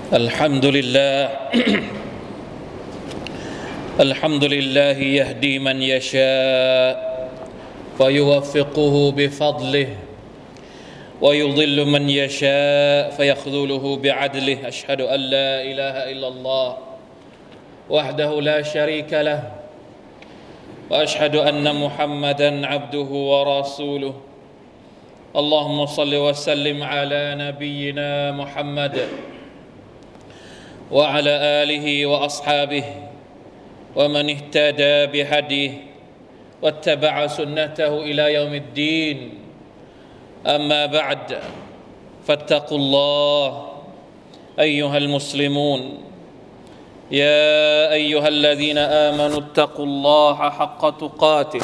الحمد لله الحمد لله يهدي من يشاء ويوفقه بفضله ويضل من يشاء فيخذله بعدله أشهد أن لا إله إلا الله وحده لا شريك له وأشهد أن محمدا عبده ورسوله اللهم صل وسلم على نبينا محمد وعلى آله وأصحابه ومن اهتدى بهديه واتبع سنته إلى يوم الدين أما بعد فاتقوا الله أيها المسلمون يا أيها الذين آمنوا اتقوا الله حق تقاته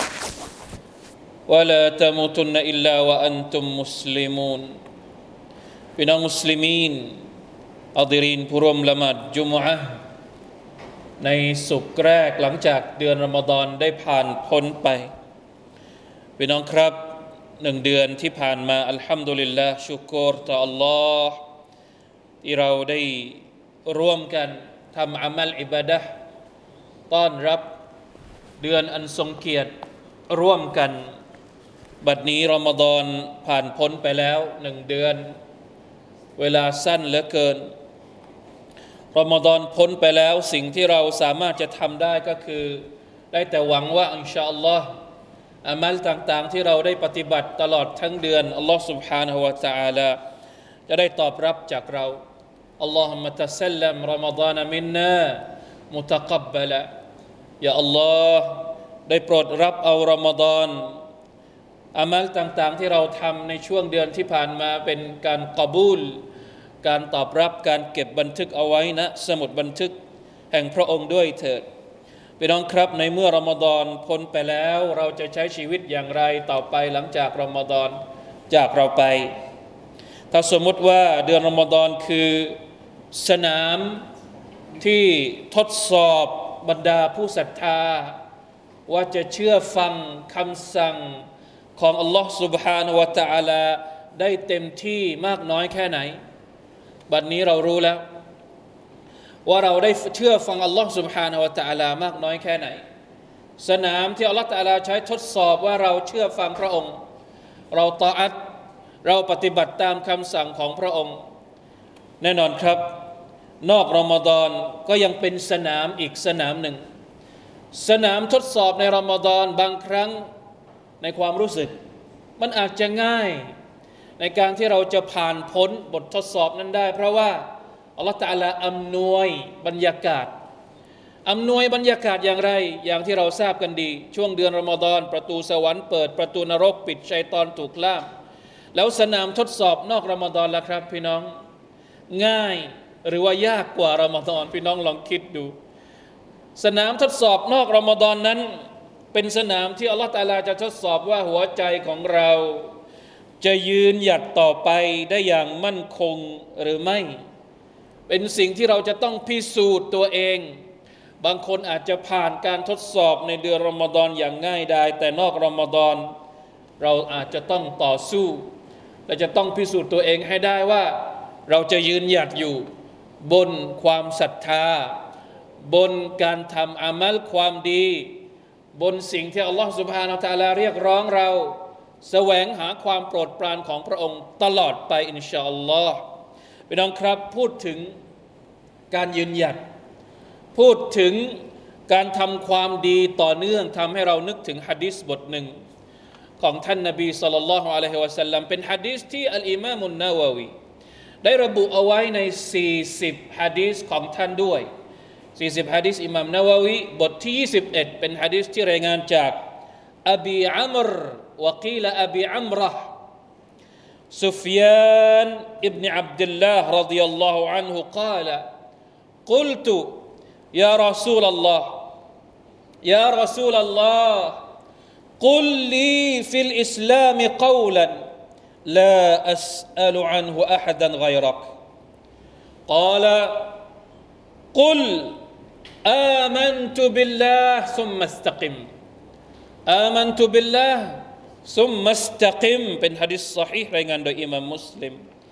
ولا تموتن إلا وأنتم مسلمون พี่น้องมุสลิมีนอัฎรีนผู้ร่วมละหมาดจุมอะห์ในศุกร์แรกหลังจากเดือนรอมฎอนได้ผ่านพ้นไปพี่น้องครับ1เดือนที่ผ่านมาอัลฮัมดุลิลลาห์ชุกรต่ออัลลอฮ์ที่เราได้ร่วมกันทำอามัลอิบาดะห์ต้อนรับเดือนอันทรงเกียรติร่วมกันบัดนี้รอมฎอนผ่านพ้นไปแล้ว1เดือนเวลาสั้นเหลือเกินรอมฎอนพ้นไปแล้วสิ่งที่เราสามารถจะทำได้ก็คือได้แต่หวังว่าอินชาอัลลอฮ์อามัลต่างๆที่เราได้ปฏิบัติตลอดทั้งเดือนอัลลอฮ์ سبحانه และ تعالى จะได้ตอบรับจากเราอัลลอฮุมะตัซัลลัมรอมฎอนมินนามุตะกับบะละยาอัลลอฮ์ได้โปรดรับเอารอมฎอนอามัลต่างๆที่เราทำในช่วงเดือนที่ผ่านมาเป็นการกอบูลการตอบรับการเก็บบันทึกเอาไว้นะสมุดบันทึกแห่งพระองค์ด้วยเถิดพี่น้องครับในเมื่อรอมฎอนพ้นไปแล้วเราจะใช้ชีวิตอย่างไรต่อไปหลังจากรอมฎอนจากเราไปถ้าสมมติว่าเดือนรอมฎอนคือสนามที่ทดสอบบรรดาผู้ศรัทธาว่าจะเชื่อฟังคำสั่งของอัลลอฮ์ سبحانه และ تعالى ได้เต็มที่มากน้อยแค่ไหนบัดนี้เรารู้แล้วว่าเราได้เชื่อฟังอัลลอฮ์ سبحانه และ تعالى มากน้อยแค่ไหนสนามที่อัลลอฮ์ تعالى ใช้ทดสอบว่าเราเชื่อฟังพระองค์เราตออัตเราปฏิบัติตามคำสั่งของพระองค์แน่นอนครับนอกรอมฎอนก็ยังเป็นสนามอีกสนามหนึ่งสนามทดสอบในรอมฎอนบางครั้งในความรู้สึกมันอาจจะง่ายในการที่เราจะผ่านพ้นบททดสอบนั้นได้เพราะว่าอัลลอฮฺตะอาลาอำนวยบรรยากาศอย่างไรอย่างที่เราทราบกันดีช่วงเดือนรอมฎอนประตูสวรรค์เปิดประตูนรกปิดชัยฏอนถูกล่ามแล้วสนามทดสอบนอกรอมฎอนล่ะครับพี่น้องง่ายหรือว่ายากกว่ารอมฎอนพี่น้องลองคิดดูสนามทดสอบนอกรอมฎอนนั้นเป็นสนามที่อัลลอฮฺตะอาลาจะทดสอบว่าหัวใจของเราจะยืนหยัดต่อไปได้อย่างมั่นคงหรือไม่เป็นสิ่งที่เราจะต้องพิสูจน์ตัวเองบางคนอาจจะผ่านการทดสอบในเดือนรอมฎอนอย่างง่ายดายแต่นอกรอมฎอนเราอาจจะต้องต่อสู้และจะต้องพิสูจน์ตัวเองให้ได้ว่าเราจะยืนหยัดอยู่บนความศรัทธาบนการทำอามัลความดีบนสิ่งที่อัลลอฮฺ سبحانه และ تعالى เรียกร้องเราแสวงหาความโปรดปรานของพระองค์ตลอดไปอินชาอัลลอฮ์พี่น้องครับพูดถึงการยืนหยัดพูดถึงการทำความดีต่อเนื่องทำให้เรานึกถึงหะดีษบทหนึ่งของท่านนบีศ็อลลัลลอฮุอะลัยฮิวะซัลลัมเป็นหะดีษที่อัลอิมามนาวะวีได้ระบุเอาไว้ใน40หะดีษของท่านด้วย40หะดีษอิหม่ามนาวะวีบทที่21เป็นหะดีษที่รายงานจากอบีอัมรวะกีลอบีอัมเราะห์ซุฟยานอิบนุอับดุลลาห์รอฎิยัลลอฮุอันฮุกล่าวกุลตุยารอซูลัลลอฮ์ยารอซูลัลลอฮ์กุลลีฟิลอิสลามกอลันลาอัสอัลอันฮุอะฮัดันฆอยรักกล่าวกุลآمنت بالله ثم استقم آمنت بالله ثم استقم เป็นหะดีษศอฮีห์รายงานโดยอิหม่ามมุสลิม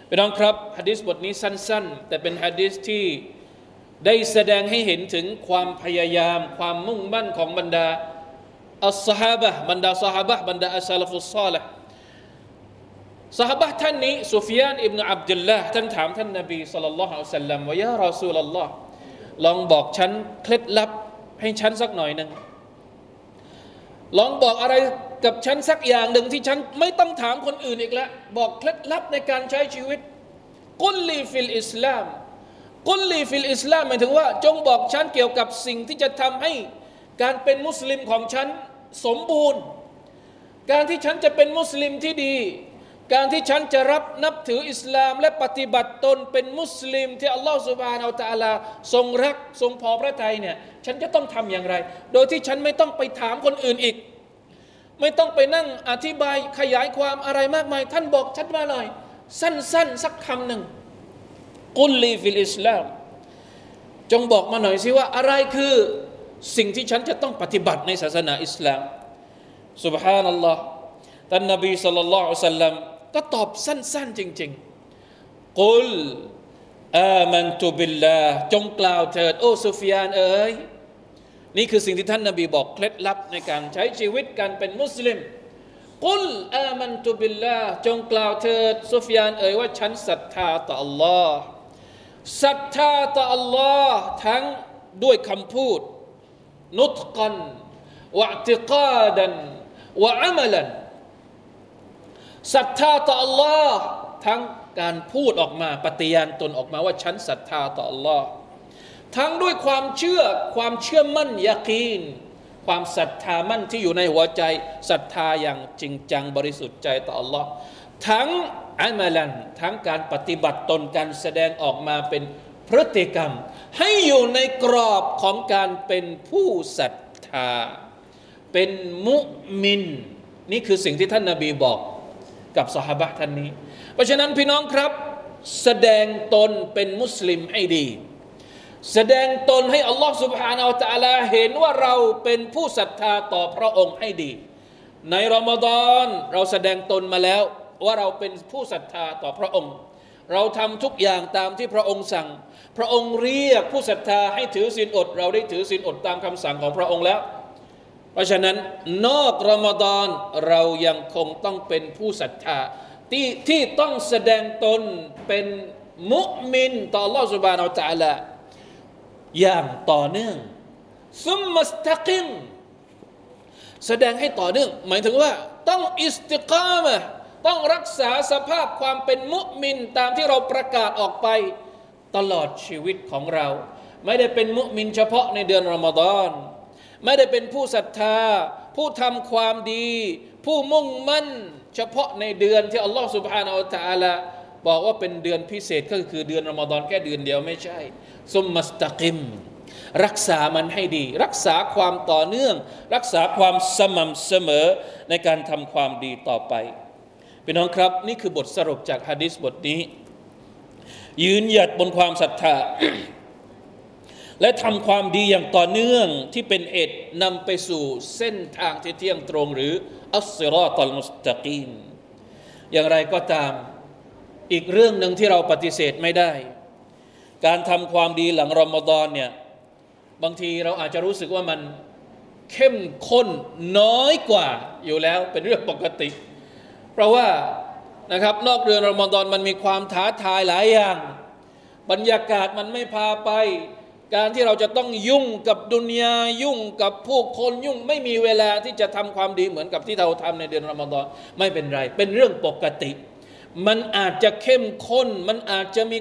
พี่น้องครับหะดีษบทนี้สั้นๆแต่เป็นหะดีษที่ได้แสดงให้เห็นถึงความพยายามความมุ่งมั่นของบรรดาอัศฮาบะห์บรรดาซอฮาบะห์บรรดาอัสซาลฟุสศอลิห์ซอฮาบะห์ท่านนี้ซุฟยานอิบนุอับดุลลาห์ท่านถามท่านนบีศ็อลลัลลอฮุอะลัยฮิวะซัลลัมว่ายารอซูลัลลอฮ์ลองบอกฉันเคล็ดลับให้ฉันสักหน่อยนึงลองบอกอะไรกับฉันสักอย่างหนึ่งที่ฉันไม่ต้องถามคนอื่นอีกแล้วบอกเคล็ดลับในการใช้ชีวิตกุลลีฟิลอิสลามกุลลีฟิลอิสลามหมายถึงว่าจงบอกฉันเกี่ยวกับสิ่งที่จะทำให้การเป็นมุสลิมของฉันสมบูรณ์การที่ฉันจะเป็นมุสลิมที่ดีการที่ฉันจะนับถืออิสลามและปฏิบัติตนเป็นมุสลิมที่อัลลอฮฺซุบฮานะฮูวะตะอาลาทรงรักทรงพอพระทัยเนี่ยฉันจะต้องทำอย่างไรโดยที่ฉันไม่ต้องไปถามคนอื่นอีกไม่ต้องไปนั่งอธิบายขยายความอะไรมากมายท่านบอกชัดมาหน่อยสั้นๆสักคำหนึ่งกุลลีฟิลอิสลามจงบอกมาหน่อยสิว่าอะไรคือสิ่งที่ฉันจะต้องปฏิบัติในศาสนาอิสลามซุบฮานัลลอฮ์ท่านนบีศ็อลลัลลอฮุอะลัยฮิวะซัลลัมก็ตอบสั้นๆจริงๆกุลอามันตุบิลลาห์จงกล่าวเถิดโอ้ซุฟยานเอ๋ยนี่คือสิ่งที่ท่านนบีบอกเคล็ดลับในการใช้ชีวิตการเป็นมุสลิมกุลอามันตุบิลลาห์จงกล่าวเถิดซุฟยานเอ๋ยว่าฉันศรัทธาต่ออัลลอฮ์ศรัทธาต่ออัลลอฮ์ทั้งด้วยคำพูดนุตกันวะอิติกาดันวะอะมัลันศรัทธาต่ออัลลอฮ์ทั้งการพูดออกมาปฏิญาณตนออกมาว่าฉันศรัทธาต่ออัลลอฮ์ทั้งด้วยความเชื่อมั่นยะกีนความศรัทธามั่นที่อยู่ในหัวใจศรัทธาอย่างจริงจังบริสุทธิ์ใจต่ออัลลอฮ์ทั้งอะมัลันทั้งการปฏิบัติตนการแสดงออกมาเป็นพฤติกรรมให้อยู่ในกรอบของการเป็นผู้ศรัทธาเป็นมุมินนี่คือสิ่งที่ท่านนบีบอกกับซอฮาบะห์ท่านนี้เพราะฉะนั้นพี่น้องครับแสดงตนเป็นมุสลิมให้ดีแสดงตนให้อัลลอฮฺ سبحانه และ تعالى เห็นว่าเราเป็นผู้ศรัทธาต่อพระองค์ให้ดีในรอมฎอนเราแสดงตนมาแล้วว่าเราเป็นผู้ศรัทธาต่อพระองค์เราทำทุกอย่างตามที่พระองค์สั่งพระองค์เรียกผู้ศรัทธาให้ถือศีลอดเราได้ถือศีลอดตามคำสั่งของพระองค์แล้วเพราะฉะนั้นนอกรอมฎอนเรายังคงต้องเป็นผู้ศรัทธาที่ต้องแสดงตนเป็นมุมินต่ออัลลอฮฺ سبحانه และ تعالى อย่างต่อเนื่องซุมมัสตักิมแสดงให้ต่อเนื่องหมายถึงว่าต้องอิสติกามะห์ต้องรักษาสภาพความเป็นมุมินตามที่เราประกาศออกไปตลอดชีวิตของเราไม่ได้เป็นมุมินเฉพาะในเดือนรอมฎอนไม่ได้เป็นผู้ศรัทธาผู้ทำความดีผู้มุ่งมั่นเฉพาะในเดือนที่อัลลอฮฺ سبحانه และ تعالى บอกว่าเป็นเดือนพิเศษก็คือเดือนรอมฎอนแค่เดือนเดียวไม่ใช่ซุมมัสตักิมรักษามันให้ดีรักษาความต่อเนื่องรักษาความสม่ำเสมอในการทำความดีต่อไปพี่น้องครับนี่คือบทสรุปจากหะดีษบทนี้ยืนหยัดบนความศรัทธา และทำความดีอย่างต่อเนื่องที่เป็นเหตุนำไปสู่เส้นทางที่เที่ยงตรงหรืออัสซิรอตัลมุสตะกีมอย่างไรก็ตามอีกเรื่องหนึ่งที่เราปฏิเสธไม่ได้การทำความดีหลังรอมฎอนเนี่ยบางทีเราอาจจะรู้สึกว่ามันเข้มข้นน้อยกว่าอยู่แล้วเป็นเรื่องปกติเพราะว่านะครับนอกเดือนรอมฎอนมันมีความท้าทายหลายอย่างบรรยากาศมันไม่พาไปการที่เราจะต้องยุ่งกับดุนยายุ่งกับผู้คนยุ่งไม่มีเวลาที่จะทำความดีเหมือนกับที่เราทำในเดือนรอมฎอนไม่เป็นไรเป็นเรื่องปกติมันอาจจะเข้มข้นมันอาจจะมี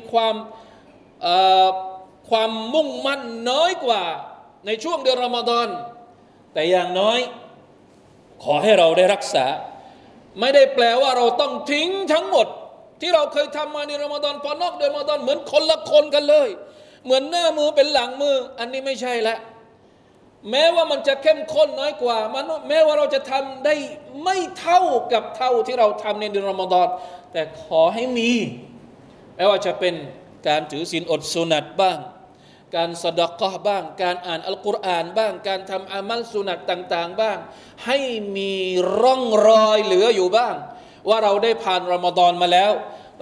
ความมุ่งมั่นน้อยกว่าในช่วงเดือนรอมฎอนแต่อย่างน้อยขอให้เราได้รักษาไม่ได้แปลว่าเราต้องทิ้งทั้งหมดที่เราเคยทำมาในรอมฎอนพอนอกเดือนรอมฎอนเหมือนคนละคนกันเลยเหมือนหน้ามือเป็นหลังมืออันนี้ไม่ใช่ละแม้ว่ามันจะเข้มข้นน้อยกว่าแม้ว่าเราจะทำได้ไม่เท่ากับเท่าที่เราทำในเดือนรอมฎอนแต่ขอให้มีไม่ว่าจะเป็นการถือศีลอดสุนัตบ้างการซะดะกอฮ์บ้างการอ่านอัลกุรอานบ้างการทำอามัลสุนัตต่างๆบ้างให้มีร่องรอยเหลืออยู่บ้างว่าเราได้ผ่านรอมฎอนมาแล้ว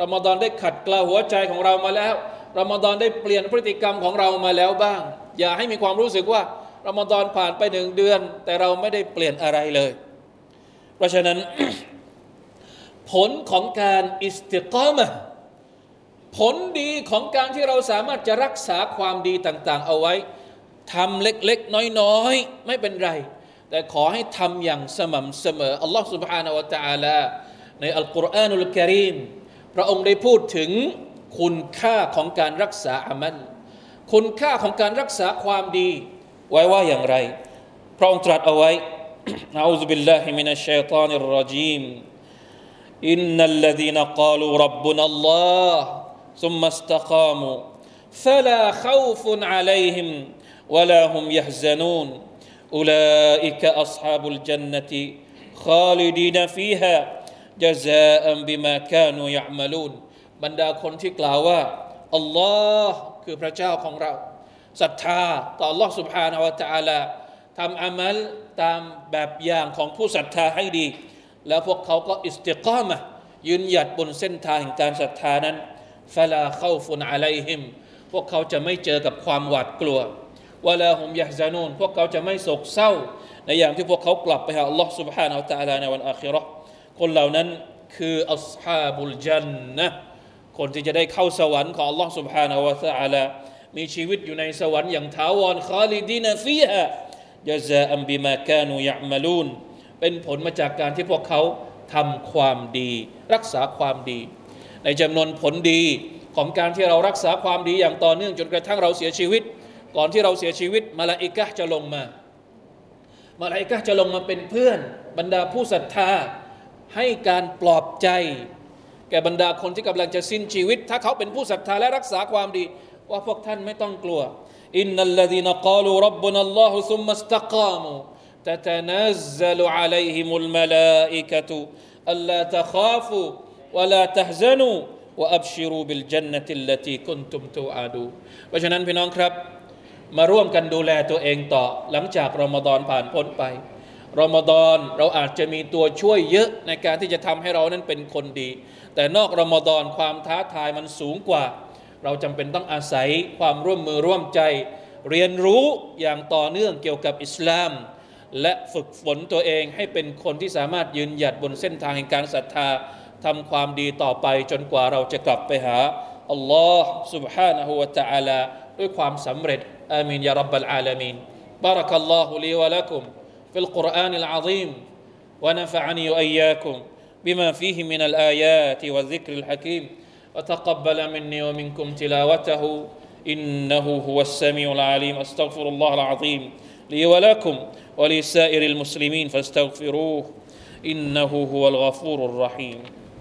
รอมฎอนได้ขัดเกลาหัวใจของเรามาแล้วรอมฎอนได้เปลี่ยนพฤติกรรมของเรามาแล้วบ้างอย่าให้มีความรู้สึกว่ารอมฎอนผ่านไป1 เดือนแต่เราไม่ได้เปลี่ยนอะไรเลยเพราะฉะนั้น ผลของการอิสติกามะห์ผลดีของการที่เราสามารถจะรักษาความดีต่างๆเอาไว้ทำเล็กๆน้อยๆไม่เป็นไรแต่ขอให้ทำอย่างสม่ำเสมออัลลอฮฺ سبحانه และ تعالى ในอัลกุรอานุลกะรีมพระองค์ได้พูดถึงคุณค่าของการรักษาอามัลคุณค่าของการรักษาความดีไว้ว่าอย่างไรพระองค์ตรัสเอาไว้ อะอูซุบิลลาฮิมินัชชัยฏอนิรเราะญีมอินนัลลซีนกาลูร็อบบุนัลลอฮ์ซุมมัสตะกามูฟะลาคอฟุนอะลัยฮิมวะลาฮุมยะฮซะนูนอุลาอิกะอัศฮาบุลญันนะติคอลิดีนฟีฮาญะซาอันบิมากานูยะอ์มะลูนบรรดาคนที่กล่าวว่าอัลลอฮ์คือพระเจ้าของเราศรัทธาต่อ Allah سبحانه และ تعالى ทำอามัลตามแบบอย่างของผู้ศรัทธาให้ดีแล้วพวกเขาก็อิสติกามะห์ยืนหยัดบนเส้นทางแห่งการศรัทธานั้นฟะลาคอฟุนอะลัยฮิมพวกเขาจะไม่เจอกับความหวาดกลัววะลาฮุมยะฮซะนูนพวกเขาจะไม่โศกเศร้าในอย่างที่พวกเขากลับไปหา Allah سبحانه และ تعالى ในวันอาคิเราะห์คนเหล่านั้นคืออัศฮาบุลญันนะห์คนที่จะได้เข้าสวรรค์ของ Allah سبحانه และ تعالى มีชีวิตอยู่ในสวรรค์อย่างถาวรคอลิดีนฟีฮาญะซาอันบิมากานูยะอ์มะลูนเป็นผลมาจากการที่พวกเขาทำความดีรักษาความดีในจำนวนผลดีของการที่เรารักษาความดีอย่างต่อเนื่องจนกระทั่งเราเสียชีวิตก่อนที่เราเสียชีวิตมลาอิกะฮ์จะลงมามลาอิกะฮ์จะลงมาเป็นเพื่อนบรรดาผู้ศรัทธาให้การปลอบใจแก่บรรดาคนที่กำลังจะสิ้นชีวิตถ้าเขาเป็นผู้ศรัทธาและรักษาความดีว่าพวกท่านไม่ต้องกลัวอินนัลลซีนกาลูร็อบบุนัลลอฮุซุมมัสตะกามูتتنزل عليهم الملائكة ألا تخافوا ولا تحزنوا وأبشروا بالجنة التي كنتم توعدون เพราะฉะนั้นพี่น้องครับมาร่วมกันดูแลตัวเองต่อหลังจากรอมฎอนผ่านพ้นไปรอมฎอนเราอาจจะมีตัวช่วยเยอะในการที่จะทำให้เรานั้นเป็นคนดีแต่นอกรอมฎอนความท้าทายมันสูงกว่าเราจำเป็นต้องอาศัยความร่วมมือร่วมใจเรียนรู้อย่างต่อเนื่องเกี่ยวกับอิสลามและฝึกฝนตัวเองให้เป็นคนที่สามารถยืนหยัดบนเส้นทางแห่งการศรัทธาทำความดีต่อไปจนกว่าเราจะกลับไปหาอัลลอฮ์ سبحانه และ تعالى ด้วยความสำเร็จอามีนยารับบลอาลามีนบารักัลลอฮุลีวะละกุมฟิลกุรอานิลอะซีมวะนะฟะอะนีวะอียากุมบิมาฟีฮิมินัลอายาติวะซิกริลฮะกีมวะตะกับบะละมินนีวะมินกุมติลาวะตะฮูอินนะฮูฮุวัสซะมีอุลอะลีมอัสตัฆฟิรุลลอฮุลอะซีมلي ولكم ولسائر المسلمين فاستغفروه إنه هو الغفور الرحيم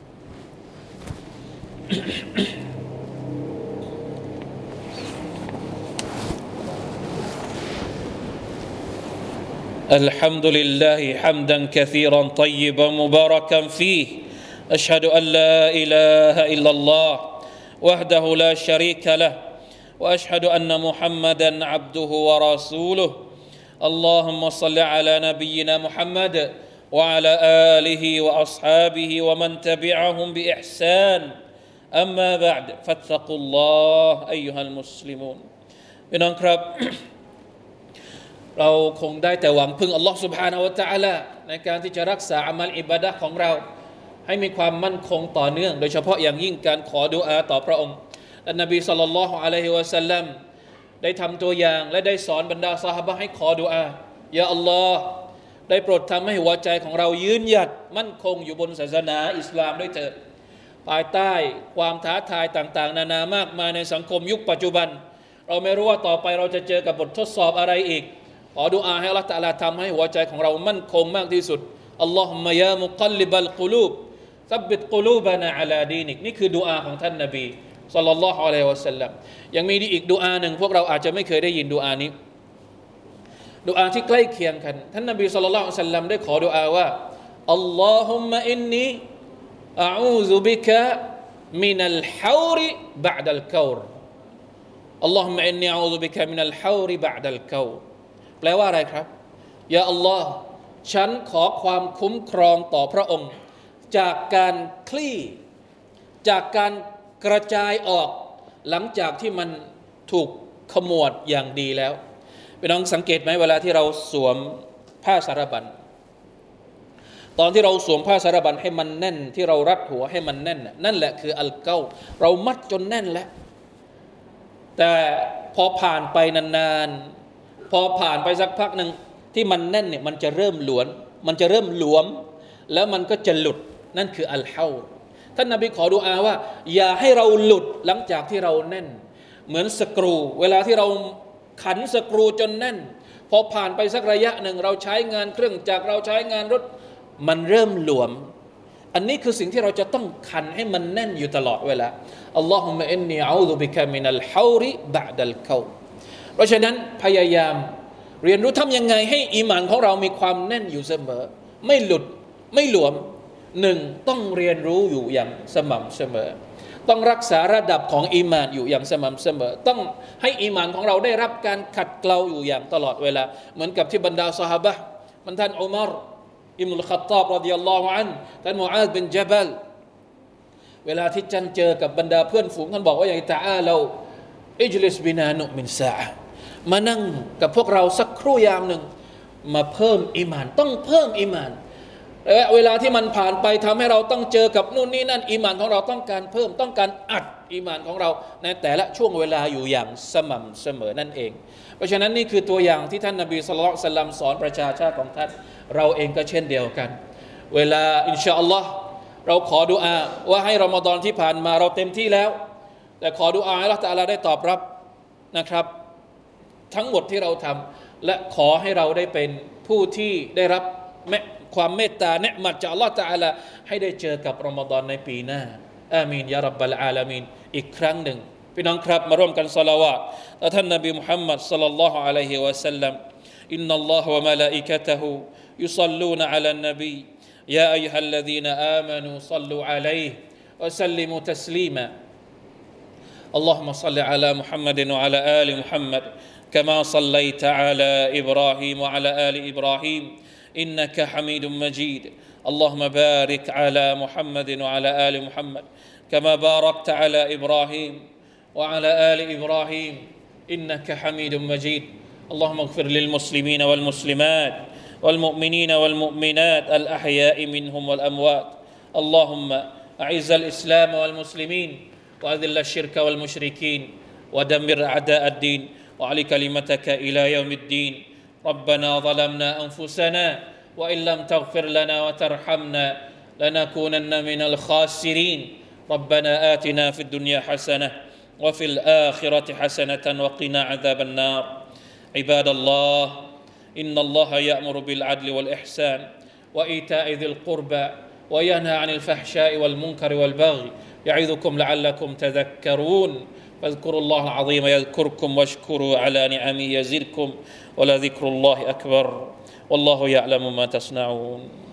الحمد لله حمدا كثيرا طيبا مباركا فيه أشهد أن لا إله إلا الله وحده لا شريك له وأشهد أن محمدا عبده ورسوله اللهم صل على نبينا محمد وعلى آله وأصحابه ومن تبعهم بإحسان أما بعد فاتقوا الله أيها المسلمون พี่น้องครับ เราคงได้แต่หวังพึ่งอัลลอฮฺ سبحانه และ تعالى ในการที่จะรักษาอามัลอิบาดะห์ของเราให้มีความมั่นคงต่อเนื่องโดยเฉพาะอย่างยิ่งการขอดุอาต่อพระองค์อันนบีศ็อลลัลลอฮุอะลัยฮิวะซัลลัมได้ทำตัวอย่างและได้สอนบรรดาซอฮาบะห์ให้ขอดุอายาอัลลอฮ์ได้โปรดทำให้หัวใจของเรายืนหยัดมั่นคงอยู่บนศาสนาอิสลามด้วยเถิดภายใต้ความท้าทายต่างๆนานามากมายในสังคมยุคปัจจุบันเราไม่รู้ว่าต่อไปเราจะเจอกับบททดสอบอะไรอีกขอดุอาให้อัลเลาะห์ตะอาลาทำให้หัวใจของเรามั่นคงมากที่สุดอัลลอฮุมมะยามุกัลลิบัลกุลูบซับบิตกุลูบะนาอะลาดีนิกนี่คือดุอาของท่านนบีศ็อลลัลลอฮุอะลัยฮิวะซัลลัมยังมีอีกดุอาหนึ่งพวกเราอาจจะไม่เคยได้ยินดุอานี้ดุอาที่ใกล้เคียงกันท่านนบีศ็อลลัลลอฮุอะลัยฮิวะซัลลัมได้ขอดุอาว่าอัลลอฮุมมะอินนีอะอูซุบิกะมินัลฮาวริบะอ์ดัลกาวรอัลลอฮุมมะอินนีอะอูซุบิกะมินัลฮาวริบะอ์ดัลกาวรแปลว่าอะไรครับยาอัลลอฮ์ฉันขอความคุ้มครองต่อพระองค์จากการคลี่จากการกระจายออกหลังจากที่มันถูกขมวดอย่างดีแล้วพี่น้องสังเกตไหมเวลาที่เราสวมผ้าสารบัญตอนที่เราสวมผ้าสารบัญให้มันแน่นที่เรารัดหัวให้มันแน่นนั่นแหละคืออัลเกาเรามัดจนแน่นแล้วแต่พอผ่านไปนานๆพอผ่านไปสักพักหนึ่งที่มันแน่นเนี่ยมันจะเริ่มหลวมแล้วมันก็จะหลุดนั่นคืออัลเฮาท่านนบีขอดุอาว่าอย่าให้เราหลุดหลังจากที่เราแน่นเหมือนสกรูเวลาที่เราขันสกรูจนแน่นพอผ่านไปสักระยะหนึ่งเราใช้งานเครื่องจักรเราใช้งานรถมันเริ่มหลวมอันนี้คือสิ่งที่เราจะต้องขันให้มันแน่นอยู่ตลอดเวลาอัลลอฮุมะอินนีอะอูซุบิกะมินัลฮาวริบะดัลเกาเพราะฉะนั้นพยายามเรียนรู้ทำยังไงให้อีหม่านของเรามีความแน่นอยู่เสมอไม่หลุดไม่หลวมหนึ่งต้องเรียนรู้อยู่อย่างสม่ำเสมอต้องรักษาระดับของอีหม่านอยู่อย่างสม่ำเสมอต้องให้อีหม่านของเราได้รับการขัดเกลาอยู่อย่างตลอดเวลาเหมือนกับที่บรรดาซอฮาบะห์มันท่านอุมัรอิบนุลค็อฏฏอบรอฎิยัลลอฮุอันฮุท่านมุอาซบินญะบัลเวลาที่ท่านเจอกับบรรดาเพื่อนฝูงท่านบอกว่าอย่างตะอาลาอิจลิสบินานุมินซาอะห์มานั่งกับพวกเราสักครู่ยามหนึ่งมาเพิ่มอีหม่านต้องเพิ่มอีหม่านเวลาที่มันผ่านไปทำให้เราต้องเจอกับนู่นนี่นั่นอีหม่านของเราต้องการเพิ่มต้องการอัดอีหม่านของเราในแต่ละช่วงเวลาอยู่อย่างสม่ำเสมอนั่นเองเพราะฉะนั้นนี่คือตัวอย่างที่ท่านนบีศ็อลลัลลอฮุอะลัยฮิวะซัลลัมสอนประชาชาติของท่านเราเองก็เช่นเดียวกันเวลาอินชาอัลลอฮ์เราขอดุอาว่าให้รอมฎอนที่ผ่านมาเราเต็มที่แล้วแต่ขอดุอาให้อัลเลาะห์ตะอาลาได้ตอบรับนะครับทั้งหมดที่เราทำและขอให้เราได้เป็นผู้ที่ได้รับความเมตตาเนืมัดจากอัลเลาะห์ตะอาลาให้ได้เจอกับรอมฎอนในปีหน้าอามีนยารับบลอาลามีนอีกครั้งหนึ่งพี่น้องครับมาร่วมกันศอลาวาตต่อท่านนบีมุฮัมมัดศ็อลลัลลอฮุอะลัยฮิวะซัลลัมอินนัลลอฮะวะมะลาอิกะตุฮุยุศ็อลลูนอะลันนบียาอัยฮัลลซีนอามานูศ็อลลูอะลัยฮิวะซัลลิมูตัสลีมาاللهم صل على محمد وعلى آل محمد كما صليت على إبراهيم وعلى آل إبراهيم إنك حميد مجيد اللهم بارك على محمد وعلى آل محمد كما باركت على إبراهيم وعلى آل إبراهيم إنك حميد مجيد اللهم اغفر للمسلمين والمسلمات والمؤمنين والمؤمنات الأحياء منهم والأموات اللهم أعز الإسلام والمسلمين وأذل الشرك والمشركين ودمر أعداء الدين وعلي كلمتك إلى يوم الدين ربنا ظلمنا أنفسنا وإن لم تغفر لنا وترحمنا لنكونن من الخاسرين ربنا آتنا في الدنيا حسنة وفي الآخرة حسنة وقنا عذاب النار عباد الله إن الله يأمر بالعدل والإحسان وإيتاء ذي القربى وينهى عن الفحشاء والمنكر والبغي يعظكم لعلكم تذكرون فاذكروا الله العظيم يذكركم واشكروا على نعمه يزدكم ولذكر الله أكبر والله يعلم ما تصنعون